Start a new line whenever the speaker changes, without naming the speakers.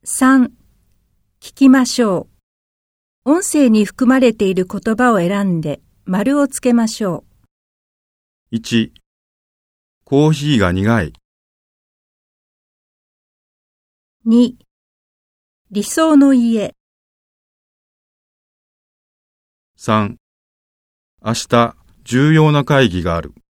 3、聞きましょう。音声に含まれている言葉を選んで丸をつけましょう。
1、コーヒーが苦い。
2、理想の家。
3、明日重要な会議がある。